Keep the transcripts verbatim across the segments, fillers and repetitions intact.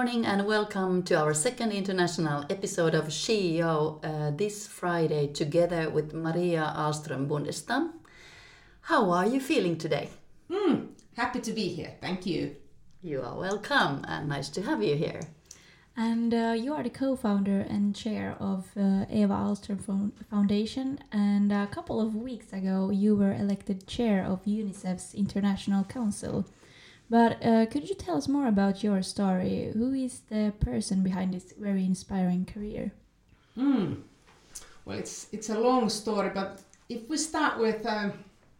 morning and welcome to our second international episode of C E O uh, this Friday together with Maria Ahlström Bundestam. How are you feeling today? Mm, happy to be here, thank you. You are welcome and nice to have you here. And uh, you are the co-founder and chair of uh, Eva Ahlström Foundation, and a couple of weeks ago you were elected chair of UNICEF's International Council. But uh, could you tell us more about your story? Who is the person behind this very inspiring career? Mm. Well, it's it's a long story, but if we start with, um,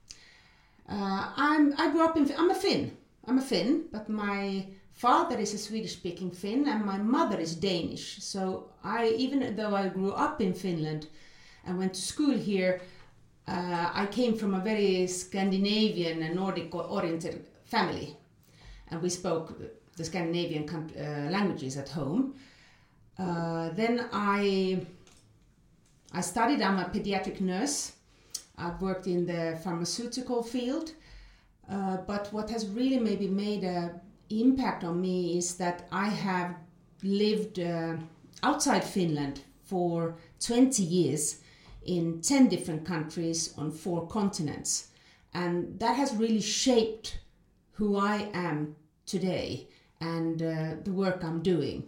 uh, I'm I grew up in I'm a Finn. I'm a Finn, but my father is a Swedish-speaking Finn, and my mother is Danish. So I, even though I grew up in Finland and went to school here, uh, I came from a very Scandinavian and Nordic-oriented family. And we spoke the Scandinavian uh, languages at home. Uh, then I I studied, I'm a pediatric nurse. I've worked in the pharmaceutical field. Uh, but what has really maybe made an impact on me is that I have lived uh, outside Finland for twenty years in ten different countries on four continents. And that has really shaped who I am today and uh, the work I'm doing.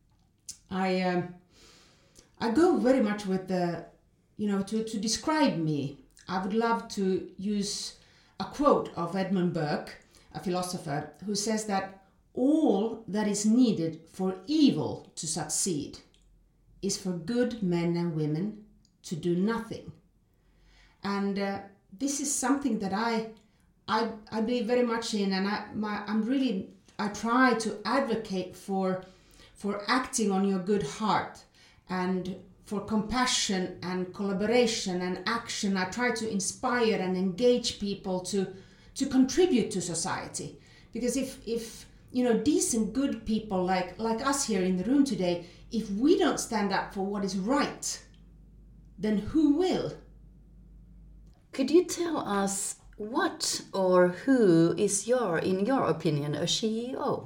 I um, I go very much with the, you know, to, to describe me, I would love to use a quote of Edmund Burke, a philosopher, who says that all that is needed for evil to succeed is for good men and women to do nothing. And uh, this is something that I I, I believe very much in, and I, my, I'm really, I try to advocate for, for acting on your good heart and for compassion and collaboration and action. I try to inspire and engage people to, to contribute to society. Because if, if, you know, decent, good people like, like us here in the room today, if we don't stand up for what is right, then who will? Could you tell us what or who is your, in your opinion, a C E O?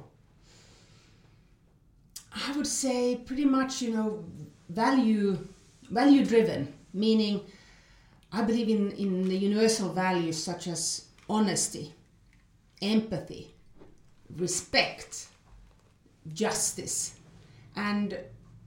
I would say pretty much, you know, value, value driven, meaning I believe in, in the universal values such as honesty, empathy, respect, justice. And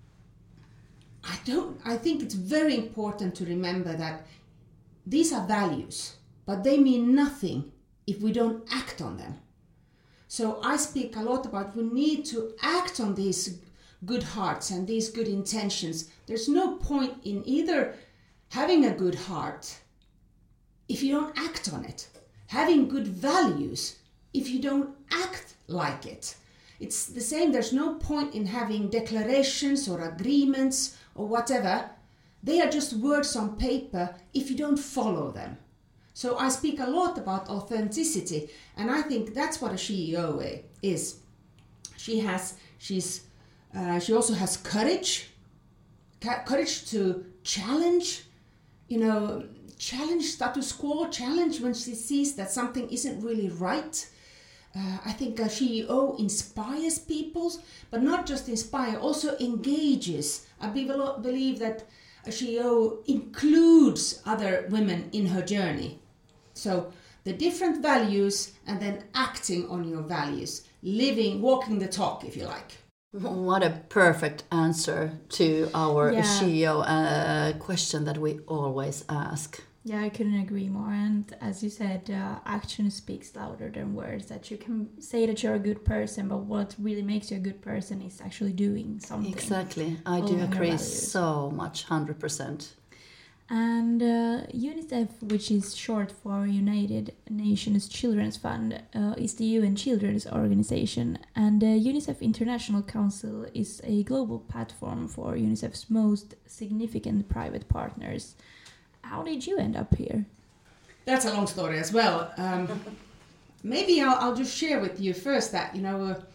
I don't, I think it's very important to remember that these are values, but they mean nothing if we don't act on them. So I speak a lot about we need to act on these good hearts and these good intentions. There's no point in either having a good heart if you don't act on it, having good values if you don't act like it. It's the same, there's no point in having declarations or agreements or whatever. They are just words on paper if you don't follow them. So I speak a lot about authenticity, and I think that's what a C E O is. She has, she's, uh, she also has courage, courage to challenge, you know, challenge status quo, challenge when she sees that something isn't really right. Uh, I think a C E O inspires people, but not just inspire, also engages. I believe that a C E O includes other women in her journey. So the different values and then acting on your values, living, walking the talk, if you like. What a perfect answer to our Yeah. C E O uh, question that we always ask. Yeah, I couldn't agree more. And as you said, uh, action speaks louder than words. That you can say that you're a good person, but what really makes you a good person is actually doing something. Exactly. I do Following your agree values. so much, one hundred percent. And uh, UNICEF, which is short for United Nations Children's Fund, uh, is the U N Children's Organization. And the UNICEF International Council is a global platform for UNICEF's most significant private partners. How did you end up here? That's a long story as well. Um, maybe I'll, I'll just share with you first that, you know, uh,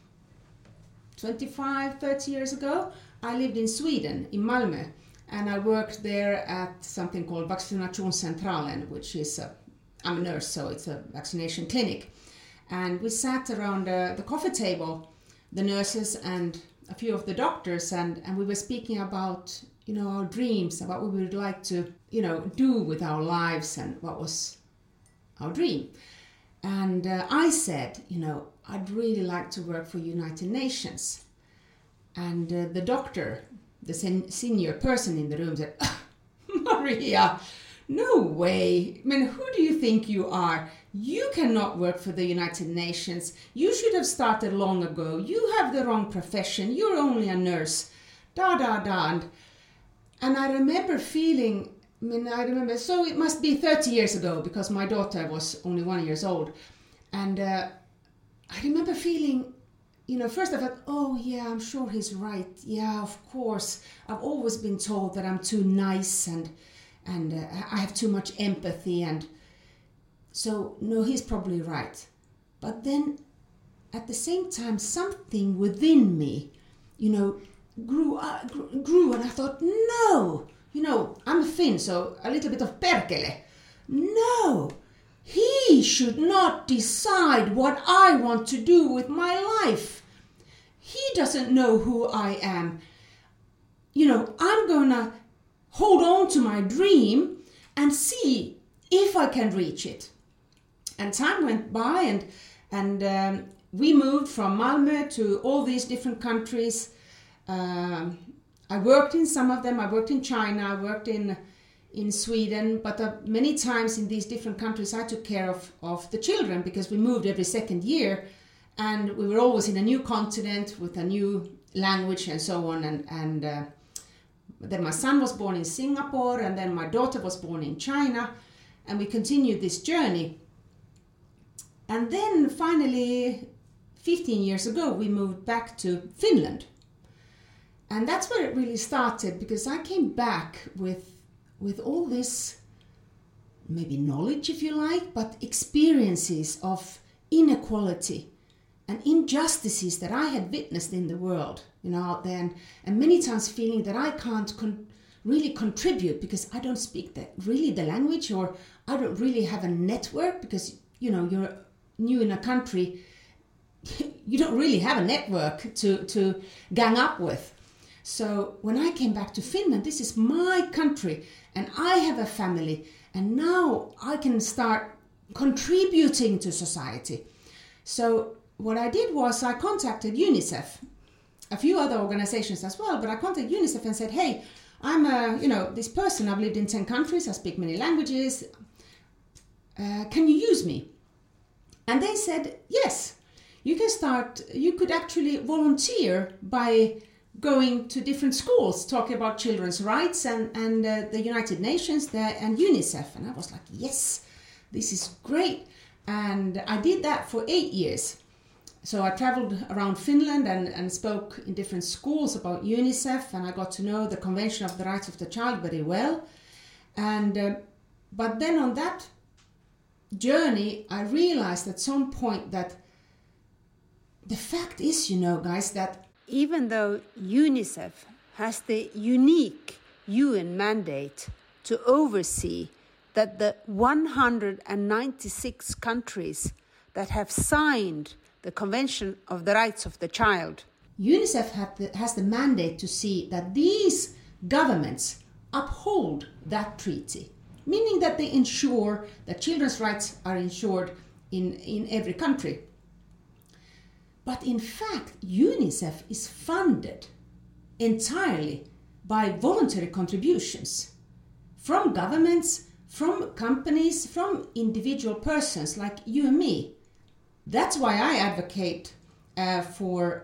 twenty-five, thirty years ago, I lived in Sweden, in Malmö, and I worked there at something called Vaccinationscentralen, which is, a, I'm a nurse, so it's a vaccination clinic. And we sat around uh, the coffee table the nurses and a few of the doctors, and, and we were speaking about, you know, our dreams, about what we would like to, you know, do with our lives and what was our dream. And uh, I said, you know, I'd really like to work for United Nations. And uh, the doctor, the sen- senior person in the room said, Maria, no way. I mean, who do you think you are? You cannot work for the United Nations. You should have started long ago. You have the wrong profession. You're only a nurse. Da, da, da. And, and I remember feeling, I mean, I remember, so it must be thirty years ago because my daughter was only one years old. And uh, I remember feeling, you know, first I thought, oh yeah, I'm sure he's right. Yeah, of course. I've always been told that I'm too nice and and uh, I have too much empathy, and so no, he's probably right. But then at the same time, something within me, you know, grew, uh, grew, grew and I thought, no, you know, I'm a Finn, so a little bit of perkele. No, he should not decide what I want to do with my life. He doesn't know who I am. You know, I'm gonna hold on to my dream and see if I can reach it. And time went by, and and um, we moved from Malmö to all these different countries. Um, I worked in some of them. I worked in China. I worked in in Sweden. But uh, many times in these different countries, I took care of, of the children because we moved every second year. And we were always in a new continent with a new language and so on. And, and uh, then my son was born in Singapore, and then my daughter was born in China. And we continued this journey. And then finally, fifteen years ago, we moved back to Finland. And that's where it really started, because I came back with, with all this, maybe knowledge if you like, but experiences of inequality and injustices that I had witnessed in the world, you know, out there, and, and many times feeling that I can't con- really contribute because I don't speak the, really the language, or I don't really have a network because, you know, you're new in a country, you don't really have a network to, to gang up with. So when I came back to Finland, this is my country and I have a family, and now I can start contributing to society. So what I did was I contacted UNICEF, a few other organizations as well, but I contacted UNICEF and said, hey, I'm a, you know, this person, I've lived in ten countries, I speak many languages, uh, can you use me? And they said, yes, you can start, you could actually volunteer by going to different schools, talking about children's rights and, and uh, the United Nations there and UNICEF. And I was like, yes, this is great. And I did that for eight years. So I traveled around Finland and, and spoke in different schools about UNICEF, and I got to know the Convention of the Rights of the Child very well. And uh, but then on that journey, I realized at some point that the fact is, you know, guys, that even though UNICEF has the unique U N mandate to oversee that the one hundred ninety-six countries that have signed the Convention of the Rights of the Child, UNICEF had the, has the mandate to see that these governments uphold that treaty, meaning that they ensure that children's rights are ensured in, in every country. But in fact, UNICEF is funded entirely by voluntary contributions from governments, from companies, from individual persons like you and me. That's why I advocate uh, for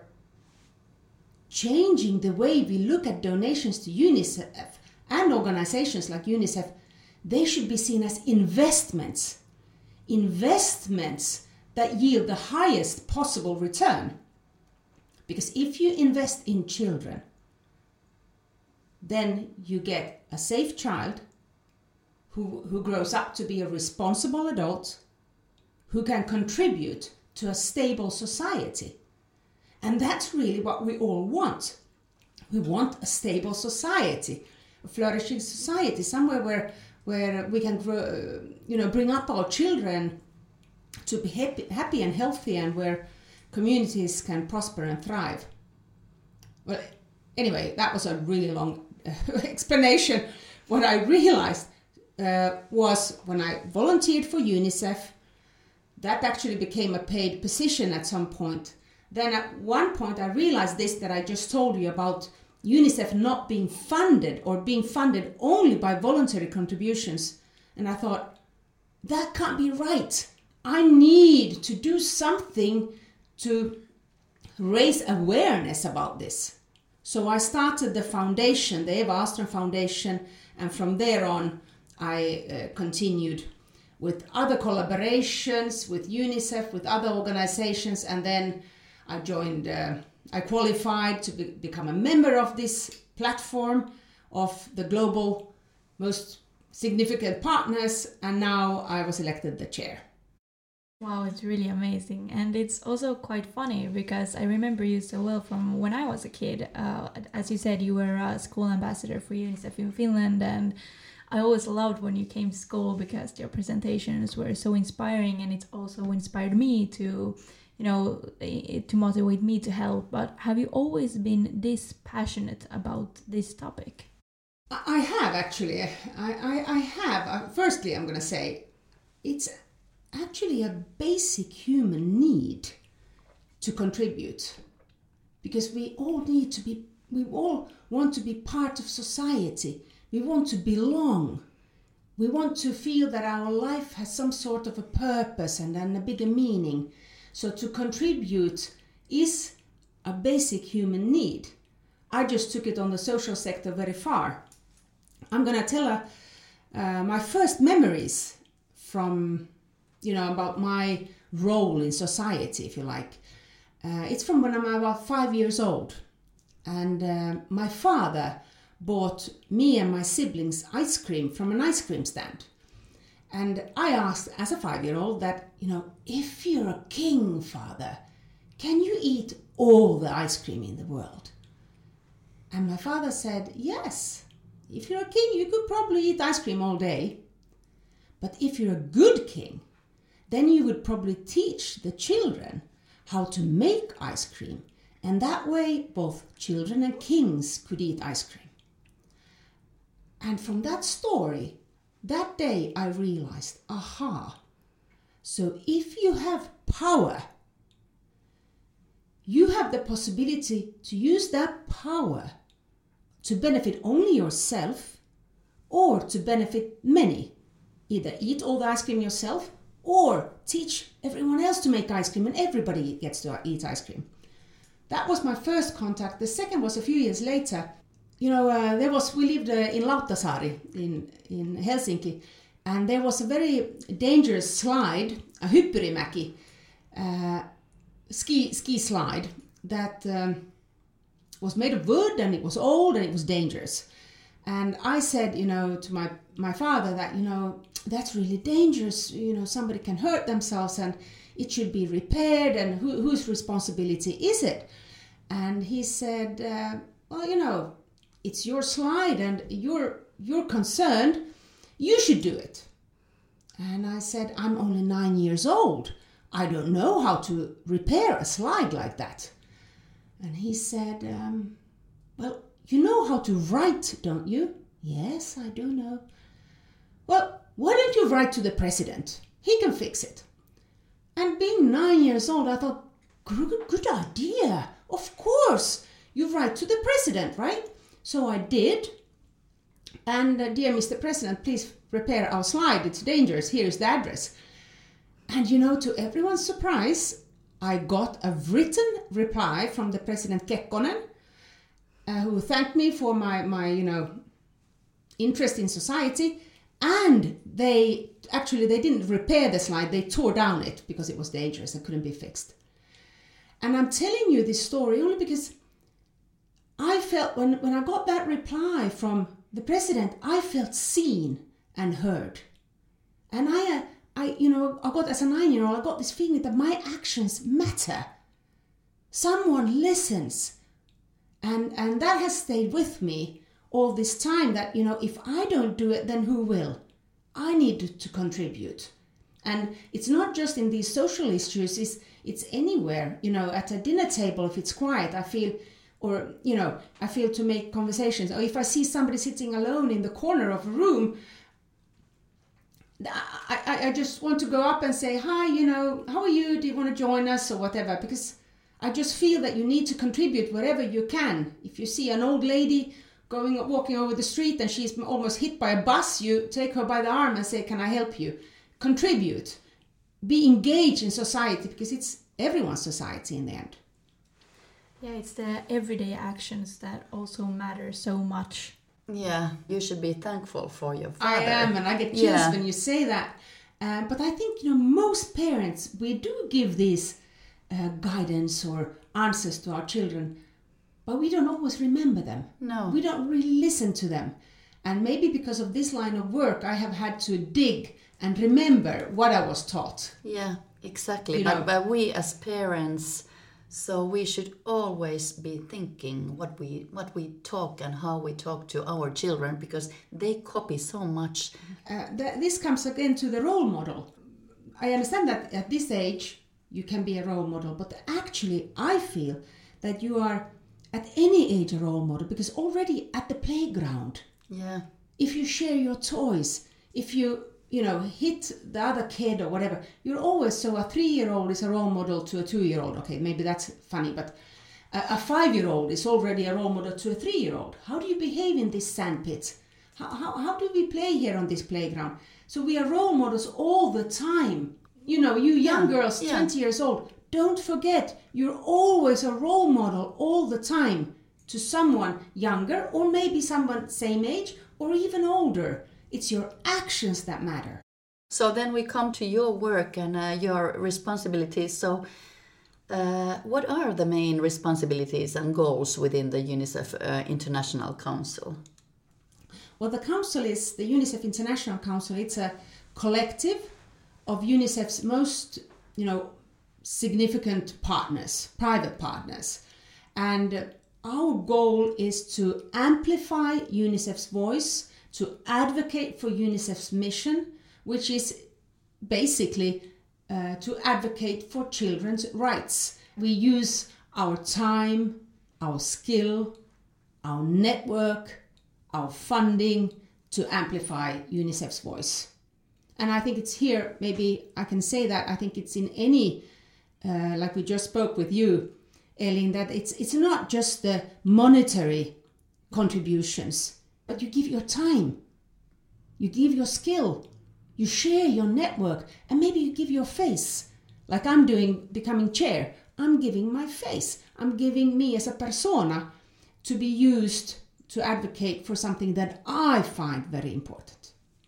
changing the way we look at donations to UNICEF and organizations like UNICEF. They should be seen as investments, investments that yield the highest possible return. Because if you invest in children, then you get a safe child who, who grows up to be a responsible adult who can contribute to a stable society. And that's really what we all want. We want a stable society, a flourishing society, somewhere where, where we can grow, you know, bring up our children to be happy, happy and healthy, and where communities can prosper and thrive. Well, anyway, that was a really long explanation. What I realized uh, was when I volunteered for UNICEF, that actually became a paid position at some point. Then at one point I realized this that I just told you about UNICEF not being funded or being funded only by voluntary contributions. And I thought, that can't be right. I need to do something to raise awareness about this. So I started the foundation, the Eva Ahlström Foundation, and from there on I uh, continued with other collaborations with UNICEF, with other organizations, and then I joined, uh, I qualified to be, become a member of this platform of the global most significant partners, and now I was elected the chair. Wow, it's really amazing. And it's also quite funny because I remember you so well from when I was a kid. Uh, as you said, you were a school ambassador for UNICEF in Finland, and I always loved when you came to school because your presentations were so inspiring, and it also inspired me to, you know, to motivate me to help. But have you always been this passionate about this topic? I have actually. I, I, I have. Uh, firstly, I'm going to say it's actually a basic human need to contribute, because we all need to be, we all want to be part of society. We want to belong. We want to feel that our life has some sort of a purpose and, and a bigger meaning. So to contribute is a basic human need. I just took it on the social sector very far. I'm going to tell uh, uh, my first memories from, you know, about my role in society, if you like. Uh, it's from when I'm about five years old. And uh, my father bought me and my siblings ice cream from an ice cream stand. And I asked as a five-year-old that, you know, if you're a king, Father, can you eat all the ice cream in the world? And my father said, yes, if you're a king, you could probably eat ice cream all day. But if you're a good king, then you would probably teach the children how to make ice cream. And that way, both children and kings could eat ice cream. And from that story, that day I realized, aha, so if you have power, you have the possibility to use that power to benefit only yourself or to benefit many. Either eat all the ice cream yourself or teach everyone else to make ice cream, and everybody gets to eat ice cream. That was my first contact. The second was a few years later. You know, uh, there was, we lived uh, in Lauttasaari in, in Helsinki, and there was a very dangerous slide, a Hyppyrimäki uh, ski, ski slide that um, was made of wood, and it was old and it was dangerous. And I said, you know, to my, my father that, you know, that's really dangerous, you know, somebody can hurt themselves and it should be repaired, and who, whose responsibility is it? And he said, uh, well, you know, it's your slide and you're, you're concerned, you should do it. And I said, I'm only nine years old. I don't know how to repair a slide like that. And he said, um, well, you know how to write, don't you? Yes, I do know. Well, why don't you write to the president? He can fix it. And being nine years old, I thought, good, good idea. Of course, you write to the president, right? So I did. And uh, dear Mister President, please repair our slide. It's dangerous. Here is the address. And you know, to everyone's surprise, I got a written reply from the President Kekkonen, uh, who thanked me for my, my, you know, interest in society. And they, actually, they didn't repair the slide. They tore down it because it was dangerous and couldn't be fixed. And I'm telling you this story only because I felt, when, when I got that reply from the president, I felt seen and heard. And I, uh, I, you know, I got, as a nine-year-old, I got this feeling that my actions matter. Someone listens. And, and that has stayed with me all this time, that, you know, if I don't do it, then who will? I need to contribute. And it's not just in these social issues, it's, it's anywhere. You know, at a dinner table, if it's quiet, I feel, or, you know, I feel to make conversations. Or if I see somebody sitting alone in the corner of a room, I, I, I just want to go up and say, hi, you know, how are you? Do you want to join us or whatever? Because I just feel that you need to contribute wherever you can. If you see an old lady going walking over the street and she's almost hit by a bus, you take her by the arm and say, can I help you? Contribute. Be engaged in society, because it's everyone's society in the end. Yeah, it's the everyday actions that also matter so much. Yeah, you should be thankful for your father. I am, and I get chills yeah. when you say that. Um, but I think, you know, most parents, we do give these uh, guidance or answers to our children, but we don't always remember them. No. We don't really listen to them. And maybe because of this line of work, I have had to dig and remember what I was taught. Yeah, exactly. You but, know, but we as parents, so we should always be thinking what we what we talk and how we talk to our children, because they copy so much. Uh, th- this comes again to the role model. I understand that at this age you can be a role model, but actually I feel that you are at any age a role model, because already at the playground, yeah, if you share your toys, if you you know, hit the other kid or whatever, you're always, so a three-year-old is a role model to a two-year-old. Okay, maybe that's funny, but a, a five-year-old is already a role model to a three-year-old. How do you behave in this sandpit? How, how, how do we play here on this playground? So we are role models all the time. You know, you young yeah, girls, yeah. twenty years old, don't forget, you're always a role model all the time to someone younger, or maybe someone same age, or even older. It's your actions that matter. So then we come to your work and uh, your responsibilities. So uh, what are the main responsibilities and goals within the UNICEF uh, International Council? Well, the council is the UNICEF International Council. It's a collective of UNICEF's most, you know, significant partners, private partners. And our goal is to amplify UNICEF's voice, to advocate for UNICEF's mission, which is basically uh, to advocate for children's rights. We use our time, our skill, our network, our funding to amplify UNICEF's voice. And I think it's here, maybe I can say that, I think it's in any, uh, like we just spoke with you, Elin, that it's it's not just the monetary contributions, but you give your time, you give your skill, you share your network, and maybe you give your face. Like I'm doing, becoming chair, I'm giving my face. I'm giving me as a persona to be used to advocate for something that I find very important.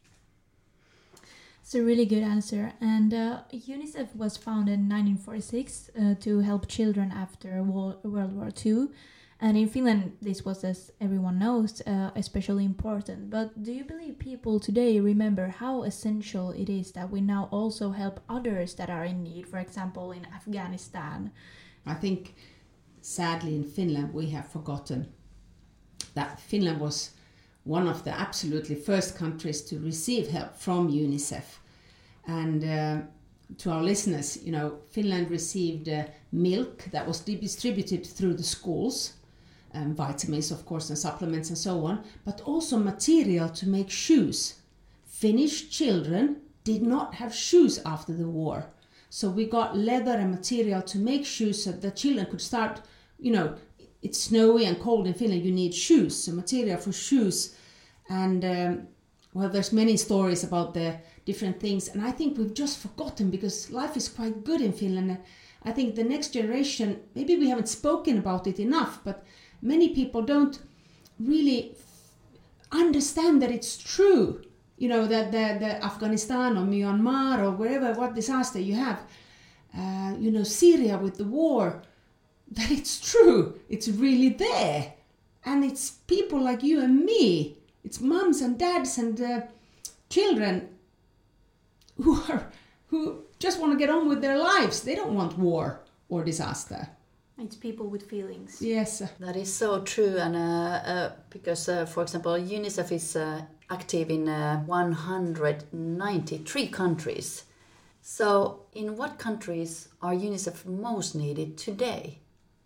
It's a really good answer. And uh, UNICEF was founded in nineteen forty-six uh, to help children after World War Two. And in Finland, this was, as everyone knows, uh, especially important. But do you believe people today remember how essential it is that we now also help others that are in need, for example, in Afghanistan? I think, sadly, in Finland, we have forgotten that Finland was one of the absolutely first countries to receive help from UNICEF. And uh, to our listeners, you know, Finland received uh, milk that was distributed through the schools, um, vitamins, of course, and supplements and so on, but also material to make shoes. Finnish children did not have shoes after the war. So we got leather and material to make shoes so the children could start, you know, it's snowy and cold in Finland, you need shoes, so material for shoes. And um, well, there's many stories about the different things, and I think we've just forgotten because life is quite good in Finland. I think the next generation, maybe we haven't spoken about it enough, but many people don't really understand that it's true. You know, that the, the Afghanistan or Myanmar or wherever, what disaster you have, uh, you know, Syria with the war, that it's true, it's really there. And it's people like you and me, it's mums and dads and uh, children who are who just want to get on with their lives. They don't want war or disaster. It's people with feelings. Yes. That is so true. And uh, uh, because, uh, for example, UNICEF is uh, active in uh, one hundred ninety-three countries. So, in what countries are UNICEF most needed today?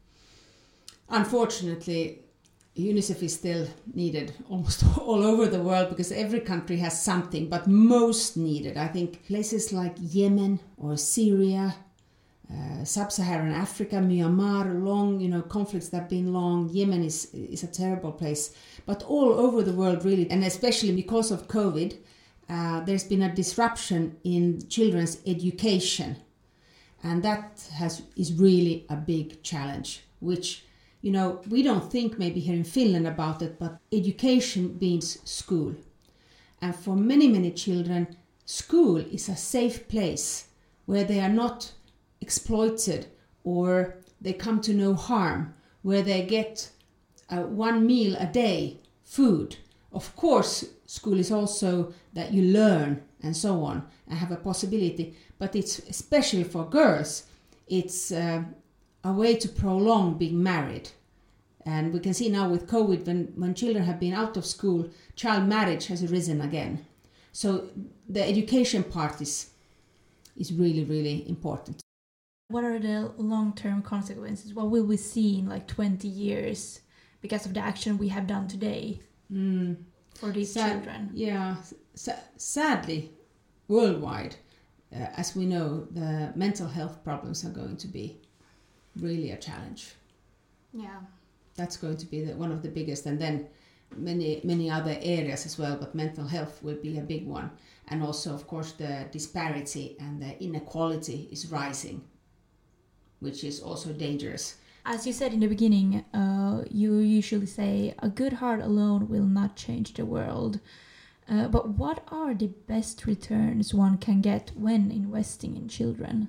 Unfortunately, UNICEF is still needed almost all over the world because every country has something, but most needed. I think places like Yemen or Syria, uh, Sub-Saharan Africa, Myanmar, long, you know, conflicts that have been long. Yemen is, is a terrible place, but all over the world really, and especially because of COVID, uh, there's been a disruption in children's education, and that has is really a big challenge, which you know, we don't think maybe here in Finland about it, but education means school. And for many, many children, school is a safe place where they are not exploited or they come to no harm, where they get uh, one meal a day, food. Of course, school is also that you learn and so on and have a possibility, but it's especially for girls, it's uh, a way to prolong being married. And we can see now with COVID, when, when children have been out of school, child marriage has risen again. So the education part is, is really, really important. What are the long-term consequences? What will we see in like twenty years because of the action we have done today mm. for these Sad, children? Yeah, sa- sadly, worldwide, uh, as we know, the mental health problems are going to be really a challenge. Yeah. That's going to be the, one of the biggest, and then many many other areas as well, but mental health will be a big one. And also, of course, the disparity and the inequality is rising, which is also dangerous. As you said in the beginning, uh, you usually say a good heart alone will not change the world. Uh, but what are the best returns one can get when investing in children?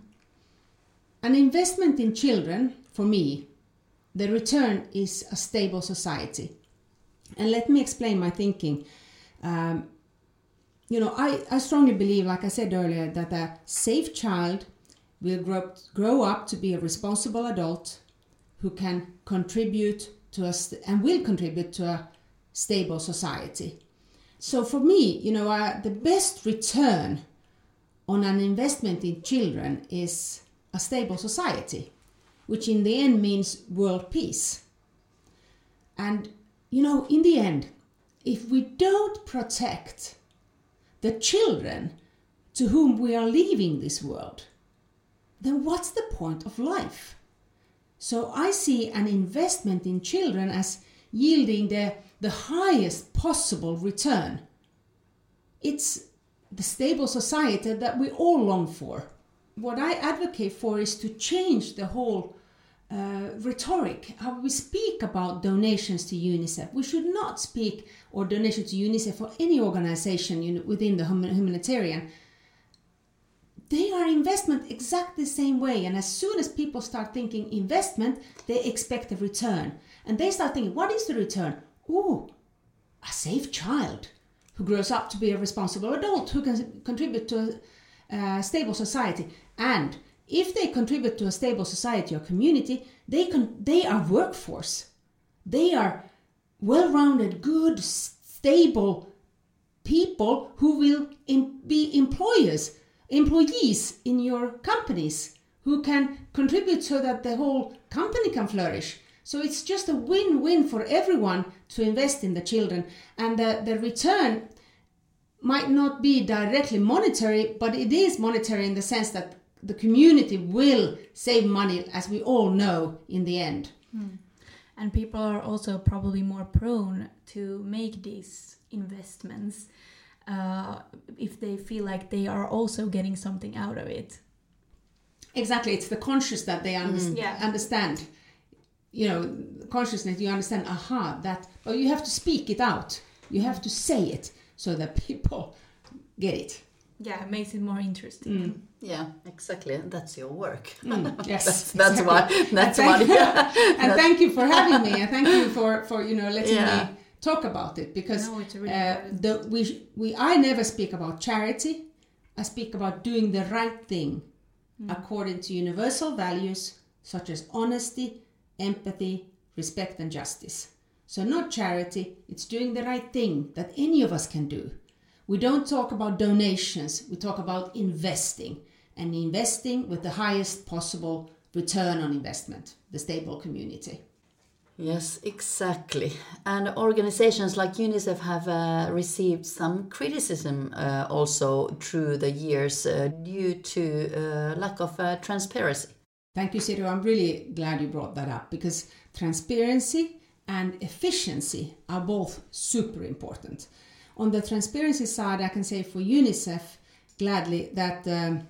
An investment in children, for me, the return is a stable society. And let me explain my thinking. Um, you know, I, I strongly believe, like I said earlier, that a safe child will grow, grow up to be a responsible adult who can contribute to a st- and will contribute to a stable society. So for me, you know, uh, the best return on an investment in children is a stable society, which in the end means world peace. And, you know, in the end, if we don't protect the children to whom we are leaving this world, then what's the point of life? So I see an investment in children as yielding the, the highest possible return. It's the stable society that we all long for. What I advocate for is to change the whole uh, rhetoric, how we speak about donations to UNICEF. We should not speak or donation to UNICEF or any organization you know, within the humanitarian. They are investment exactly the same way, and as soon as people start thinking investment, they expect a return. And they start thinking, what is the return? Ooh, a safe child who grows up to be a responsible adult who can contribute to a uh, stable society. And if they contribute to a stable society or community, they can, they are workforce. They are well-rounded, good, stable people who will em- be employers, employees in your companies who can contribute so that the whole company can flourish. So it's just a win-win for everyone to invest in the children. And the, the return might not be directly monetary, but it is monetary in the sense that the community will save money, as we all know, in the end. Mm. And people are also probably more prone to make these investments uh, if they feel like they are also getting something out of it. Exactly, it's the conscious that they under- Mm. Yeah. understand. You know, consciousness, you understand, aha, that, but you have to speak it out. You have to say it so that people get it. Yeah, it makes it more interesting. Mm. Yeah, exactly. And that's your work. Mm, yes, that's that's exactly. why. That's and thank, why. and thank you for having me, and thank you for, for you know letting Yeah. me talk about it, because No, it's really uh, important. the we we I never speak about charity. I speak about doing the right thing Mm. according to universal values such as honesty, empathy, respect, and justice. So not charity, it's doing the right thing that any of us can do. We don't talk about donations, we talk about investing. and investing with the highest possible return on investment, the stable community. Yes, exactly. And organizations like UNICEF have uh, received some criticism uh, also through the years uh, due to uh, lack of uh, transparency. Thank you, Siri. I'm really glad you brought that up, because transparency and efficiency are both super important. On the transparency side, I can say for UNICEF gladly that um,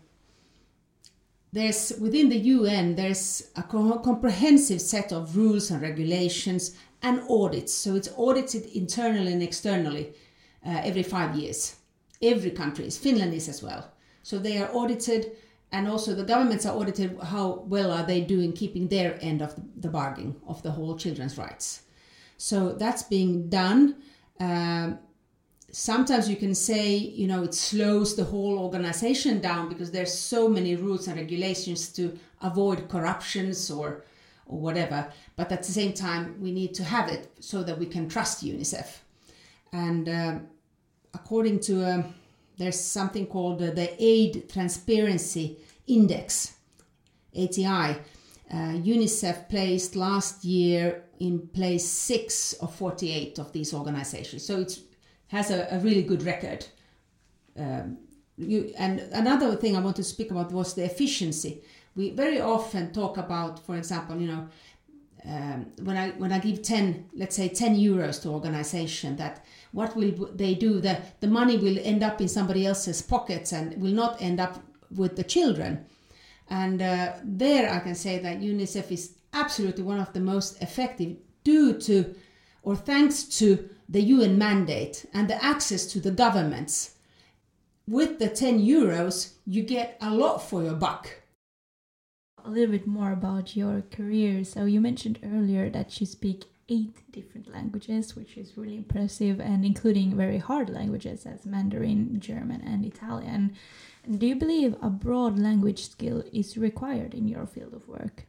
there's within the U N there's a co- comprehensive set of rules and regulations and audits. So it's audited internally and externally uh, every five years. Every country is, Finland is as well. So they are audited, and also the governments are audited. How well are they doing keeping their end of the bargain of the whole children's rights? So that's being done. Um, Sometimes you can say, you know, it slows the whole organization down because there's so many rules and regulations to avoid corruptions or, or whatever. But at the same time, we need to have it so that we can trust UNICEF. And uh, according to, uh, there's something called uh, the Aid Transparency Index, A T I. Uh, UNICEF placed last year in place six of forty-eight of these organizations. So it's has a, a really good record. Um, you, and another thing I want to speak about was the efficiency. We very often talk about, for example, you know, um, when I when I give ten, let's say ten euros to organization, that what will they do? The, the money will end up in somebody else's pockets and will not end up with the children. And uh, there I can say that UNICEF is absolutely one of the most effective due to, or thanks to, the U N mandate and the access to the governments. With the ten euros, you get a lot for your buck. A little bit more about your career. So you mentioned earlier that you speak eight different languages, which is really impressive, and including very hard languages as Mandarin, German, and Italian. Do you believe a broad language skill is required in your field of work?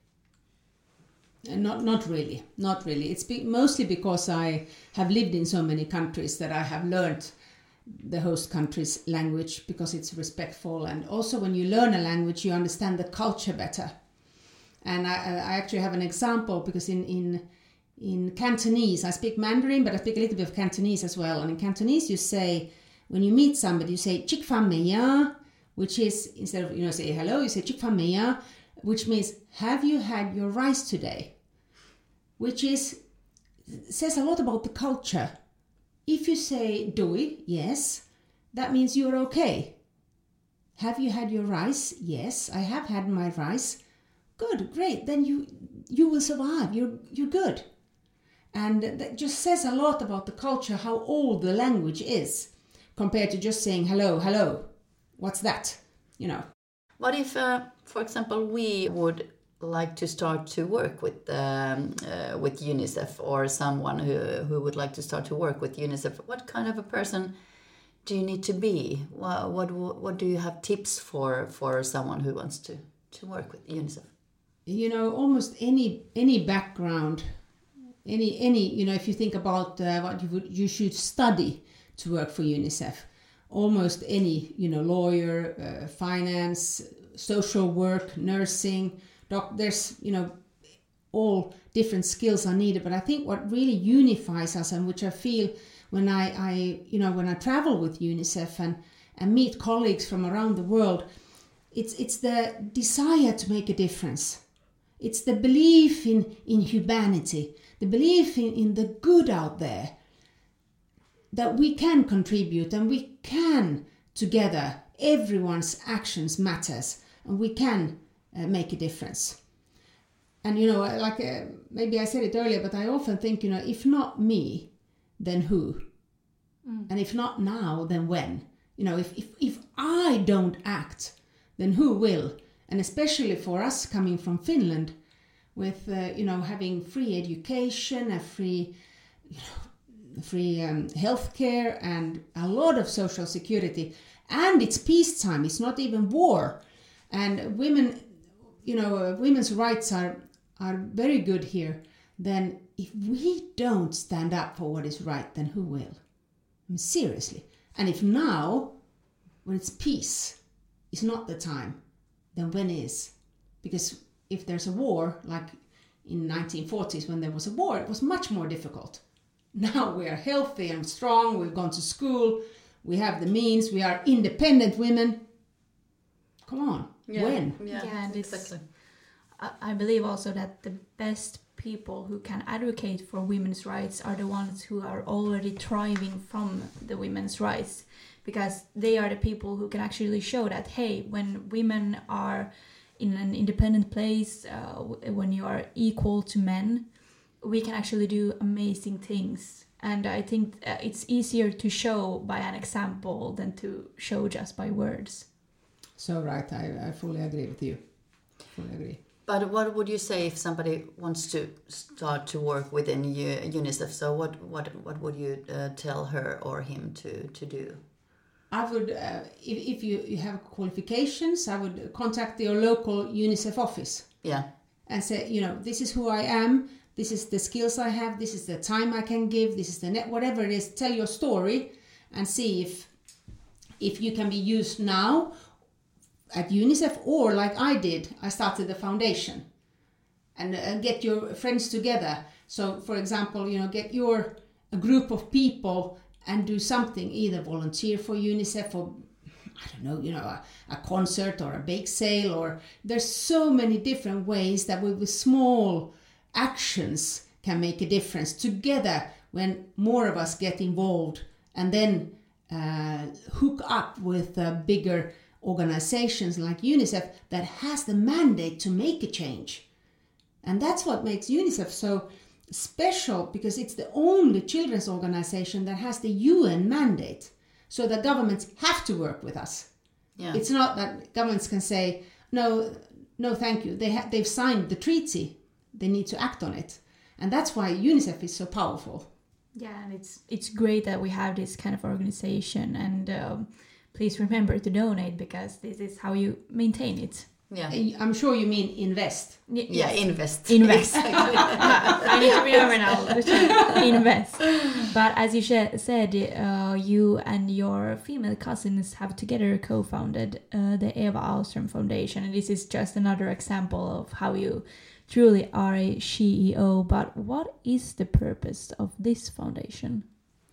Not, not really, not really. It's be, mostly because I have lived in so many countries that I have learned the host country's language because it's respectful. And also when you learn a language, you understand the culture better. And I, I actually have an example because in, in, in Cantonese, I speak Mandarin, but I speak a little bit of Cantonese as well. And in Cantonese, you say, when you meet somebody, you say, Chik Fan Me Ya, which is, instead of, you know, say hello, you say Chik Fan Me Ya, which means, have you had your rice today? Which is says a lot about the culture. If you say doi, yes, that means you're okay. Have you had your rice? Yes, I have had my rice. Good, great. Then you you will survive. You're you're good. And that just says a lot about the culture, how old the language is, compared to just saying hello, hello. What's that? You know. What if, uh, for example, we would like to start to work with um, uh, with UNICEF, or someone who who would like to start to work with UNICEF? What kind of a person do you need to be? What what, what do you have tips for for someone who wants to, to work with UNICEF? You know, almost any any background, any any you know, if you think about uh, what you would you should study to work for UNICEF, almost any you know lawyer, uh, finance, social work, nursing. There's, you know, all different skills are needed, but I think what really unifies us, and which I feel when I, I you know, when I travel with UNICEF and, and meet colleagues from around the world, it's it's the desire to make a difference. It's the belief in, in humanity, the belief in, in the good out there, that we can contribute and we can together, everyone's actions matters, and we can Uh, make a difference. And you know, like uh, maybe I said it earlier, but I often think, you know, if not me, then who? Mm. And if not now, then when? You know, if, if if I don't act, then who will? And especially for us coming from Finland, with uh, you know having free education, a free, you know, free um, healthcare, and a lot of social security, and it's peacetime. It's not even war, and women. You know, uh, women's rights are are very good here. Then if we don't stand up for what is right, then who will? I mean, seriously. And if now, when it's peace, is not the time, than when is. Because if there's a war, like in nineteen forties when there was a war, it was much more difficult. Now we are healthy and strong, we've gone to school, we have the means, we are independent women. Come on, Yeah. when? Yeah, Yeah, and it's- exactly. I, I believe also that the best people who can advocate for women's rights are the ones who are already thriving from the women's rights, because they are the people who can actually show that, hey, when women are in an independent place, uh, w- when you are equal to men, we can actually do amazing things. And I think uh, it's easier to show by an example than to show just by words. So right, I, I fully agree with you. Fully agree. But what would you say if somebody wants to start to work within U- UNICEF? So what what what would you uh, tell her or him to to do? I would, uh, if, if you, you have qualifications, I would contact your local UNICEF office Yeah. and say, you know, this is who I am, this is the skills I have, this is the time I can give, this is the net, whatever it is, tell your story and see if if you can be used now at UNICEF, or like I did, I started the foundation and, and get your friends together. So for example, you know, get your a group of people and do something, either volunteer for UNICEF or, I don't know, you know, a, a concert or a bake sale, or there's so many different ways that with, with small actions can make a difference together when more of us get involved, and then uh, hook up with uh, bigger organizations like UNICEF that has the mandate to make a change. And that's what makes UNICEF so special, because it's the only children's organization that has the U N mandate, so that governments have to work with us. Yeah. It's not that governments can say, no, no thank you. They ha- they've signed the treaty. They need to act on it. And that's why UNICEF is so powerful. Yeah, and it's it's great that we have this kind of organization, and um, please remember to donate, because this is how you maintain it. Yeah. I'm sure you mean invest. Y- Yeah, yes. invest. Invest. I need to remember now to invest. But as you sh- said, uh, you and your female cousins have together co-founded uh, the Eva Ahlström Foundation, and this is just another example of how you truly are a C E O. But what is the purpose of this foundation?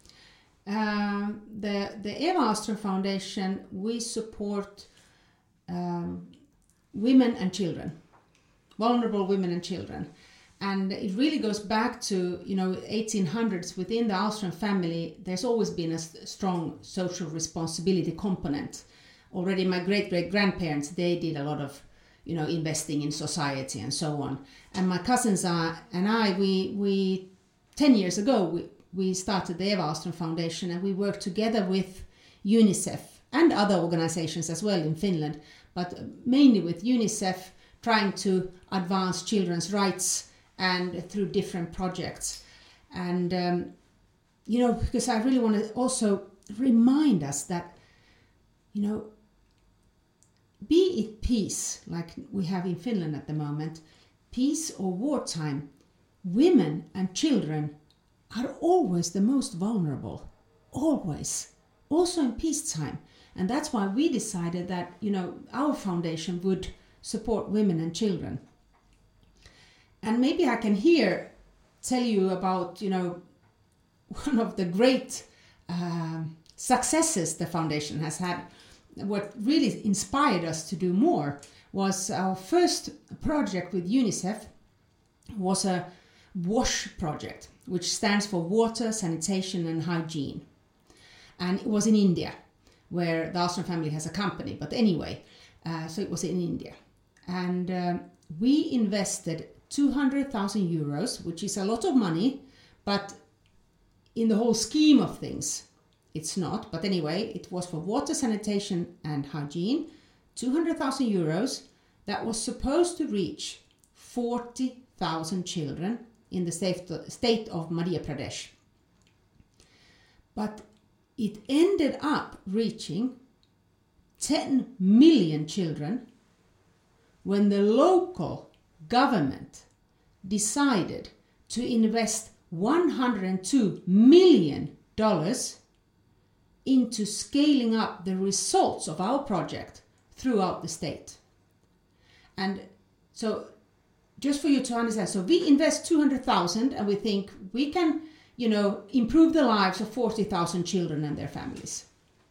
Um, the the Eva Ahlström Foundation, we support um, women and children, vulnerable women and children, and it really goes back to, you know, eighteen hundreds. Within the Ahlström family, there's always been a st- strong social responsibility component. Already, my great great grandparents, they did a lot of, you know, investing in society and so on. And my cousins are, and I, we we ten years ago we. we started the Eva Ahlström Foundation, and we work together with UNICEF and other organizations as well in Finland, but mainly with UNICEF, trying to advance children's rights and through different projects. And, um, you know, because I really want to also remind us that, you know, be it peace, like we have in Finland at the moment, peace or wartime, women and children are always the most vulnerable, always, also in peacetime. And that's why we decided that, you know, our foundation would support women and children. And maybe I can here tell you about, you know, one of the great uh, successes the foundation has had. What really inspired us to do more was our first project with UNICEF was a WASH project, which stands for Water, Sanitation and Hygiene. And it was in India, where the Ahlström family has a company. But anyway, uh, so it was in India. And um, we invested two hundred thousand euros, which is a lot of money, but in the whole scheme of things, it's not. But anyway, it was for water, sanitation and hygiene, two hundred thousand euros that was supposed to reach forty thousand children in the state of Madhya Pradesh. But it ended up reaching ten million children when the local government decided to invest one hundred two million dollars into scaling up the results of our project throughout the state. and so just for you to understand, so we invest two hundred thousand and we think we can, you know, improve the lives of forty thousand children and their families.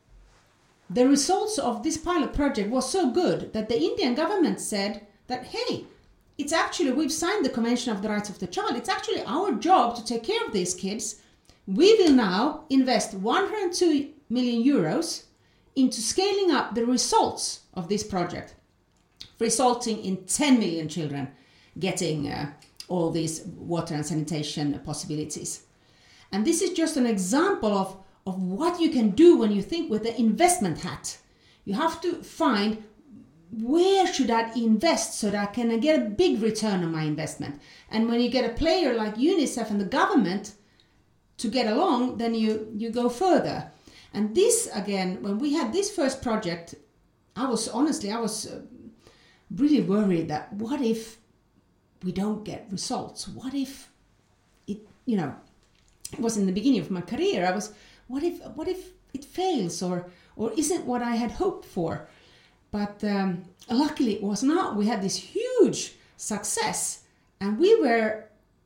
The results of this pilot project was so good that the Indian government said that, hey, it's actually, we've signed the Convention of the Rights of the Child. It's actually our job to take care of these kids. We will now invest one hundred two million euros into scaling up the results of this project, resulting in ten million children getting uh, all these water and sanitation possibilities. And this is just an example of, of what you can do when you think with the investment hat. You have to find, where should I invest so that I can get a big return on my investment? And when you get a player like UNICEF and the government to get along, then you, you go further. And this, again, when we had this first project, I was honestly, I was uh, really worried that what if we don't get results? What if it, you know, it was in the beginning of my career. I was, what if, what if it fails or, or isn't what I had hoped for? But um, luckily it was not. We had this huge success, and we were,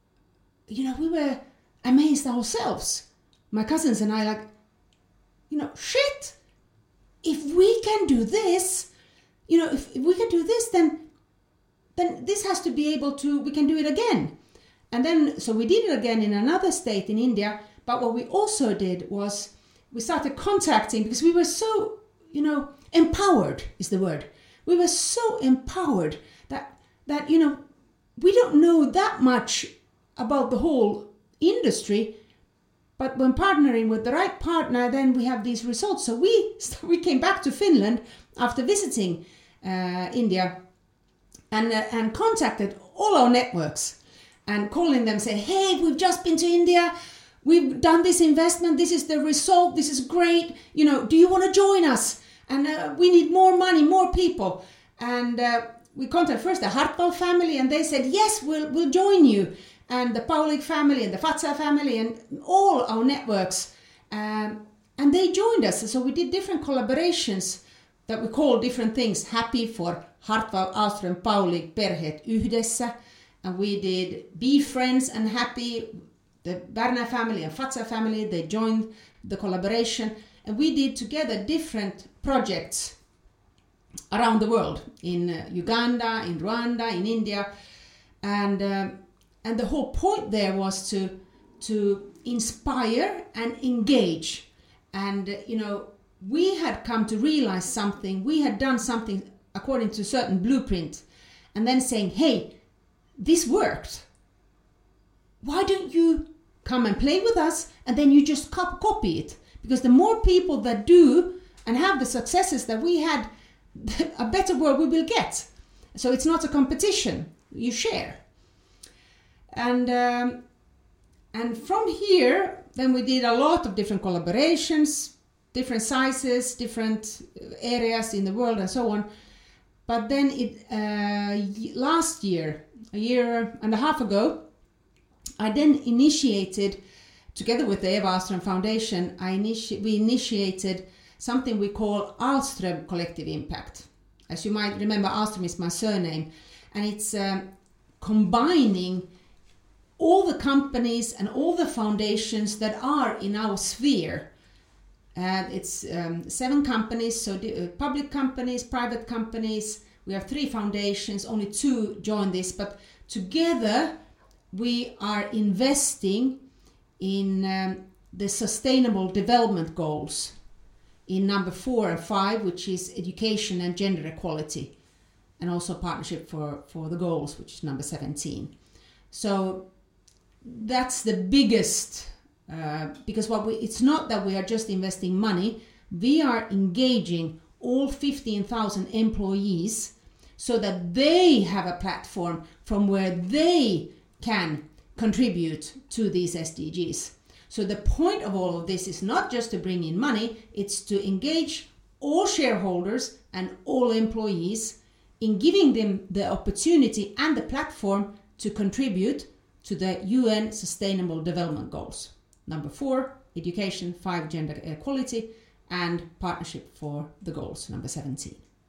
you know, we were amazed ourselves. My cousins and I, like, you know, shit, if we can do this, you know, if, if we can do this, then, then this has to be able to, we can do it again. And then, so we did it again in another state in India. But what we also did was we started contacting, because we were so, you know, empowered is the word. We were so empowered that, that, you know, we don't know that much about the whole industry, but when partnering with the right partner, then we have these results. So we, we came back to Finland after visiting uh, India and, uh, and contacted all our networks and calling them, say, hey, we've just been to India. We've done this investment. This is the result. This is great. You know, do you want to join us? And uh, we need more money, more people. And uh, we contacted first the Hartwall family, and they said, yes, we'll, we'll join you. And the Paulig family and the Fatsa family and all our networks. Um, and they joined us. So we did different collaborations that we call different things. Happy for Hartwall, Ahlström, Paulig, Perheet Yhdessä. And we did Be Friends and Happy. The Berner family and Fatsa family, they joined the collaboration. And we did together different projects around the world. In uh, Uganda, in Rwanda, in India. And... Um, And the whole point there was to to inspire and engage. And, you know, we had come to realize something. We had done something according to a certain blueprint. And then saying, hey, this worked. Why don't you come and play with us? And then you just copy it. Because the more people that do and have the successes that we had, a better world we will get. So it's not a competition. You share. And um, and from here, then we did a lot of different collaborations, different sizes, different areas in the world and so on. But then it uh, last year, a year and a half ago, I then initiated, together with the Eva Ahlström Foundation, I initi- we initiated something we call Ahlström Collective Impact. As you might remember, Ahlström is my surname, and it's um, combining all the companies and all the foundations that are in our sphere. And it's um, seven companies, so the, uh, public companies, private companies. We have three foundations, only two join this, but together we are investing in um, the Sustainable Development Goals in number four and five, which is education and gender equality, and also partnership for, for the goals, which is number seventeen. So that's the biggest, uh, because what we, it's not that we are just investing money, we are engaging all fifteen thousand employees so that they have a platform from where they can contribute to these S D Gs. So the point of all of this is not just to bring in money, it's to engage all shareholders and all employees in giving them the opportunity and the platform to contribute to the U N Sustainable Development Goals. Number four, education, five, gender equality, and partnership for the goals, number seventeen.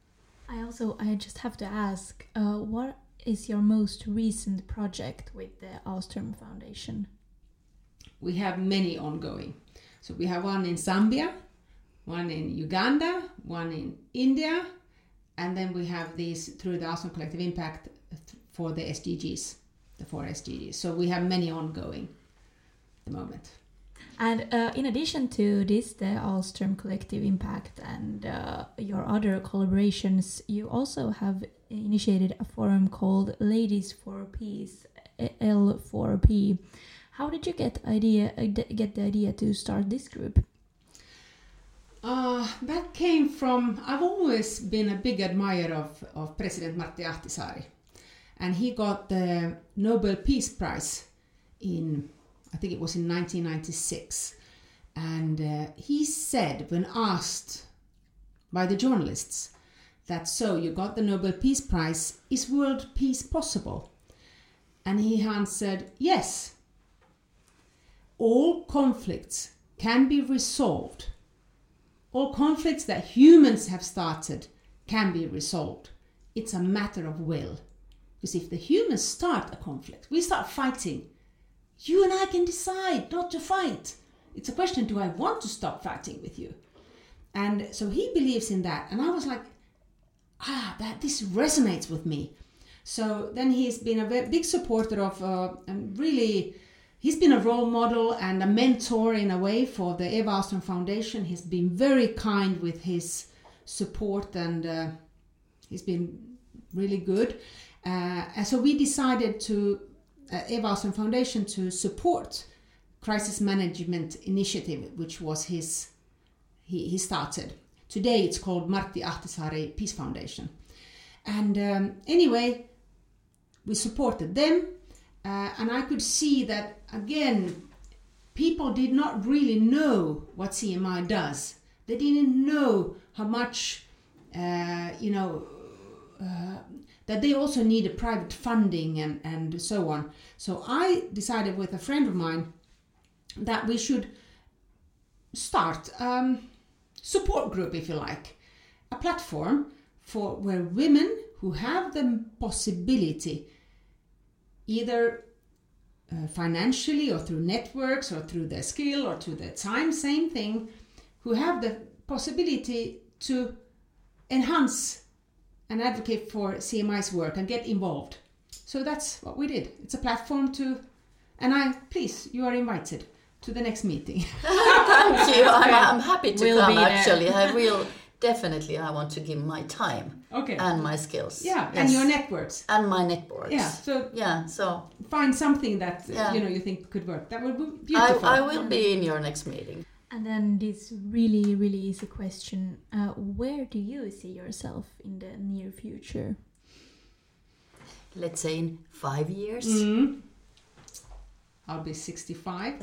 I also, I just have to ask, uh, what is your most recent project with the Ahlström Foundation? We have many ongoing. So we have one in Zambia, one in Uganda, one in India, and then we have these through the Ahlström Collective Impact for the S D Gs, the four S D Gs. So we have many ongoing at the moment. And uh, in addition to this, the Ahlström Collective Impact and uh, your other collaborations, you also have initiated a forum called Ladies for Peace, L four P. How did you get idea uh, get the idea to start this group? Uh, that came from, I've always been a big admirer of, of President Martti Ahtisaari. And he got the Nobel Peace Prize in, I think it was in nineteen ninety-six. And uh, he said, when asked by the journalists, that so you got the Nobel Peace Prize, is world peace possible? And he answered, yes. All conflicts can be resolved. All conflicts that humans have started can be resolved. It's a matter of will. Because if the humans start a conflict, we start fighting, you and I can decide not to fight. It's a question, do I want to stop fighting with you? And so he believes in that. And I was like, ah, that this resonates with me. So then he's been a very big supporter of, uh, and really, he's been a role model and a mentor in a way for the Eva Ahlström Foundation. He's been very kind with his support, and uh, he's been really good. Uh, and so we decided to, uh, Eva Ahlström Foundation, to support Crisis Management Initiative, which was his, he, he started. Today it's called Martti Ahtisaari Peace Foundation. And um, anyway, we supported them. Uh, and I could see that, again, people did not really know what C M I does. They didn't know how much, uh, you know, uh, that they also needed private funding and, and so on. So I decided with a friend of mine that we should start um, support group, if you like, a platform for where women who have the possibility, either uh, financially or through networks or through their skill or through their time, same thing, who have the possibility to enhance and advocate for C M I's work and get involved. So that's what we did. It's a platform to, and I, please, you are invited to the next meeting. Thank you. I'm, I'm happy to We'll come, be there. actually. I will, definitely, I want to give my time Okay. and my skills. Yeah, Yes. and your networks. And my networks. Yeah, so Yeah, so find something that Yeah. you know you think could work. That would be I, beautiful. I will be in your next meeting. And then this really, really easy question. Uh, where do you see yourself in the near future? Let's say in five years. Mm. I'll be sixty-five.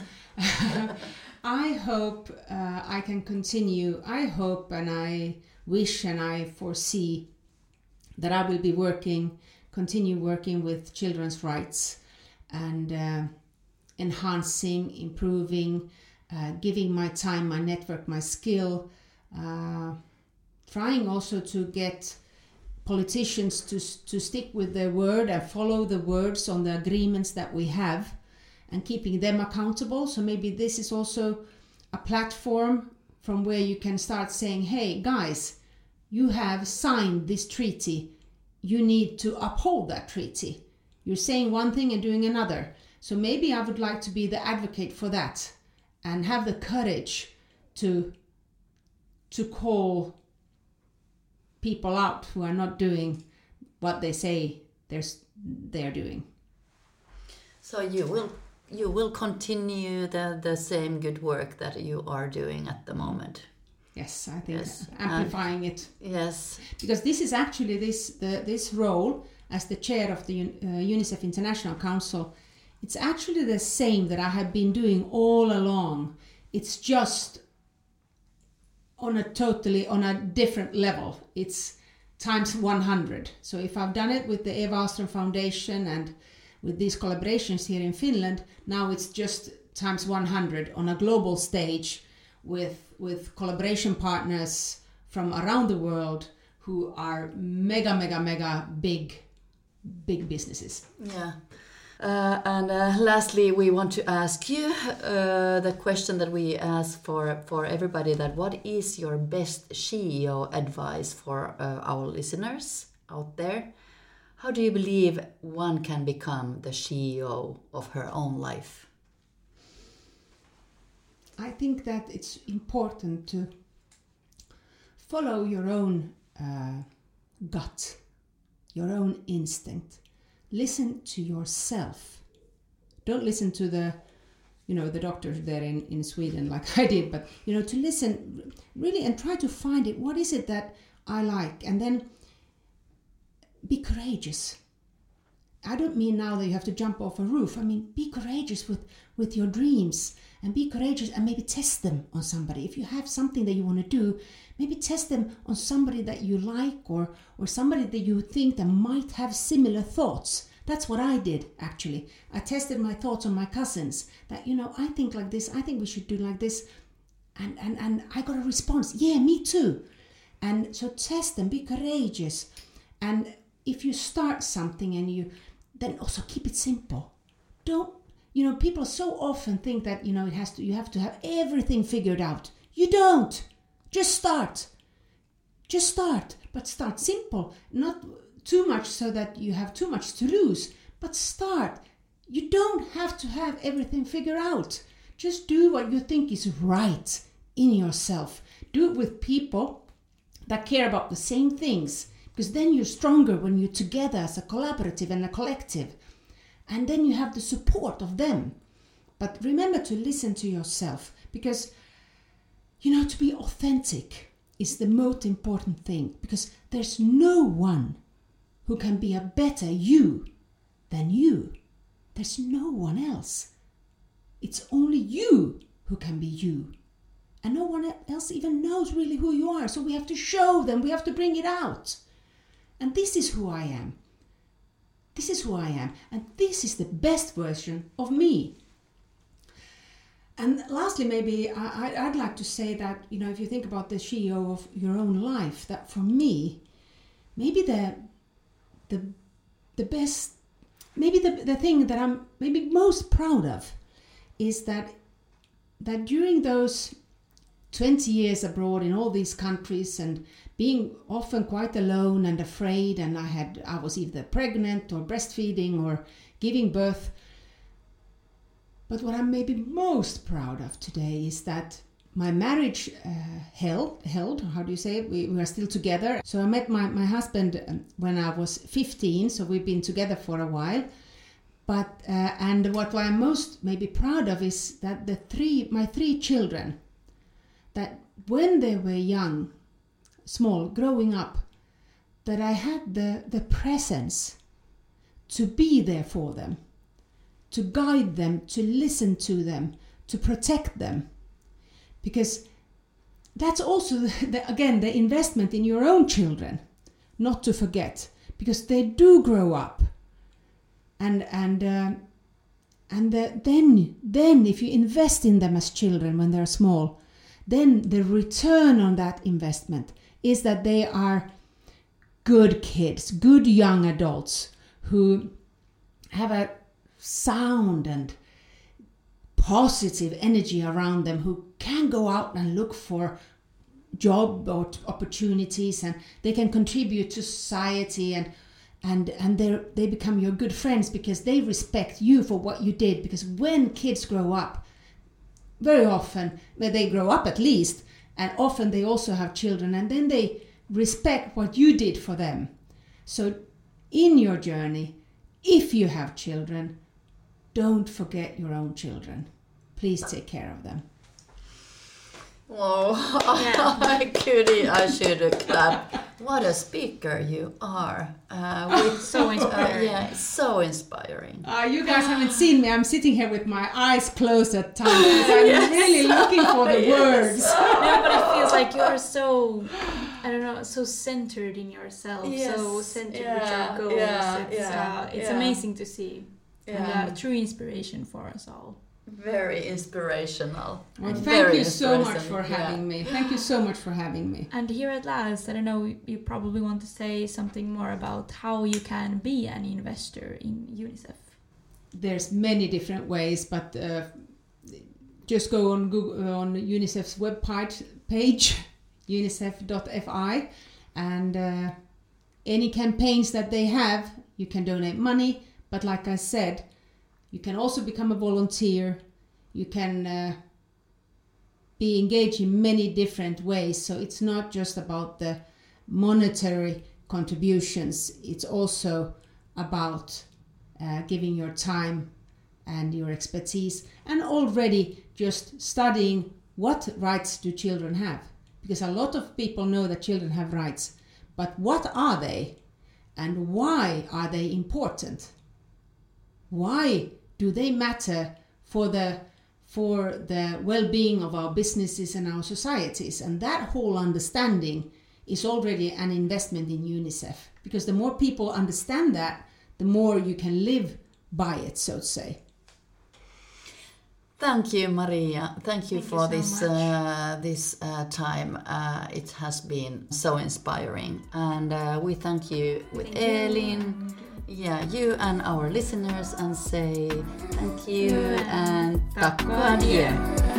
I hope uh, I can continue. I hope and I wish and I foresee that I will be working, continue working with children's rights and uh, enhancing, improving, uh, giving my time, my network, my skill, uh, trying also to get politicians to, to stick with their word and follow the words on the agreements that we have, and keeping them accountable. So maybe this is also a platform from where you can start saying, hey guys, you have signed this treaty. You need to uphold that treaty. You're saying one thing and doing another. So maybe I would like to be the advocate for that and have the courage to, to call people out who are not doing what they say they're, they're doing. So you will you will continue the, the same good work that you are doing at the moment. Yes, I think Yes, amplifying it. Yes. Because this is actually this the this role as the chair of the uh, UNICEF International Council. It's actually the same that I have been doing all along. It's just on a totally on a different level. It's times one hundred. So if I've done it with the Eva Ahlström Foundation and with these collaborations here in Finland, now it's just times one hundred on a global stage with with collaboration partners from around the world who are mega, mega, mega big, big businesses. Yeah. Uh, and uh, lastly, we want to ask you uh, the question that we ask for, for everybody, that what is your best C E O advice for uh, our listeners out there? How do you believe one can become the C E O of her own life? I think that it's important to follow your own uh, gut, your own instinct. Listen to yourself. Don't listen to the, you know, the doctor there in, in Sweden like I did, but, you know, to listen really and try to find it. What is it that I like? And then be courageous. I don't mean now that you have to jump off a roof. I mean, be courageous with, with your dreams, and be courageous and maybe test them on somebody. If you have something that you want to do, maybe test them on somebody that you like, or, or somebody that you think that might have similar thoughts. That's what I did, actually. I tested my thoughts on my cousins, that, you know, I think like this, I think we should do like this. And, and, and I got a response. Yeah, me too. And so test them, be courageous. And if you start something and you, then also keep it simple. Don't, you know, people so often think that, you know, it has to, you have to have everything figured out. You don't. Just start. Just start. But start simple. Not too much so that you have too much to lose. But start. You don't have to have everything figured out. Just do what you think is right in yourself. Do it with people that care about the same things. Because then you're stronger when you're together as a collaborative and a collective. And then you have the support of them. But remember to listen to yourself. Because, you know, to be authentic is the most important thing. Because there's no one who can be a better you than you. There's no one else. It's only you who can be you. And no one else even knows really who you are. So we have to show them. We have to bring it out. And this is who I am. This is who I am. And this is the best version of me. And lastly, maybe I, I'd like to say that, you know, if you think about the C E O of your own life, that for me, maybe the the the best, maybe the, the thing that I'm maybe most proud of is that that during those twenty years abroad in all these countries, and being often quite alone and afraid, and I had I was either pregnant or breastfeeding or giving birth. But what I'm maybe most proud of today is that my marriage uh, held, held, how do you say it? We, we are still together. So I met my, my husband um, when I was fifteen, so we've been together for a while. But uh, and what I'm most maybe proud of is that the three, my three children, that when they were young, small, growing up, that I had the, the presence to be there for them, to guide them, to listen to them, to protect them. Because that's also, the, again, the investment in your own children, not to forget, because they do grow up. And and uh, and the, then, then if you invest in them as children when they're small, then the return on that investment is that they are good kids, good young adults who have a sound and positive energy around them, who can go out and look for job or opportunities, and they can contribute to society, and and and they they become your good friends because they respect you for what you did. Because when kids grow up, very often, well, they grow up at least, and often they also have children, and then they respect what you did for them. So in your journey, if you have children, don't forget your own children. Please take care of them. Whoa, yeah. I could, I should clap. What a speaker you are. Uh, with, so inspiring. Uh, yeah, so inspiring. Uh, you guys haven't seen me. I'm sitting here with my eyes closed at times. I'm yes. really looking for the yes. words. No, but it feels like you're so, I don't know, so centered in yourself, yes. so centered yeah. with your goals. Yeah. It's, Yeah. uh, it's yeah. amazing to see. Yeah. And uh, true inspiration for us all. Very inspirational. Well, thank Very you so much inspirational. for Yeah. having me. Thank you so much for having me. And here at last, I don't know, you probably want to say something more about how you can be an investor in UNICEF. There's many different ways, but uh, just go on Google, on UNICEF's webpage page, unicef dot f i, and uh, any campaigns that they have, you can donate money. But like I said, you can also become a volunteer. You can uh, be engaged in many different ways. So it's not just about the monetary contributions. It's also about uh, giving your time and your expertise, and already just studying what rights do children have. Because a lot of people know that children have rights, but what are they and why are they important? Why do they matter for the for the well-being of our businesses and our societies? And that whole understanding is already an investment in UNICEF, because the more people understand that, the more you can live by it, so to say. Thank you, Maria. Thank you Thank for you so this much. uh, this uh, time. Uh, it has been so inspiring, and uh, we thank you with Thank you. Elin. Yeah, you and our listeners, and say thank you Yeah. and Tack tack och och adjö. adjö.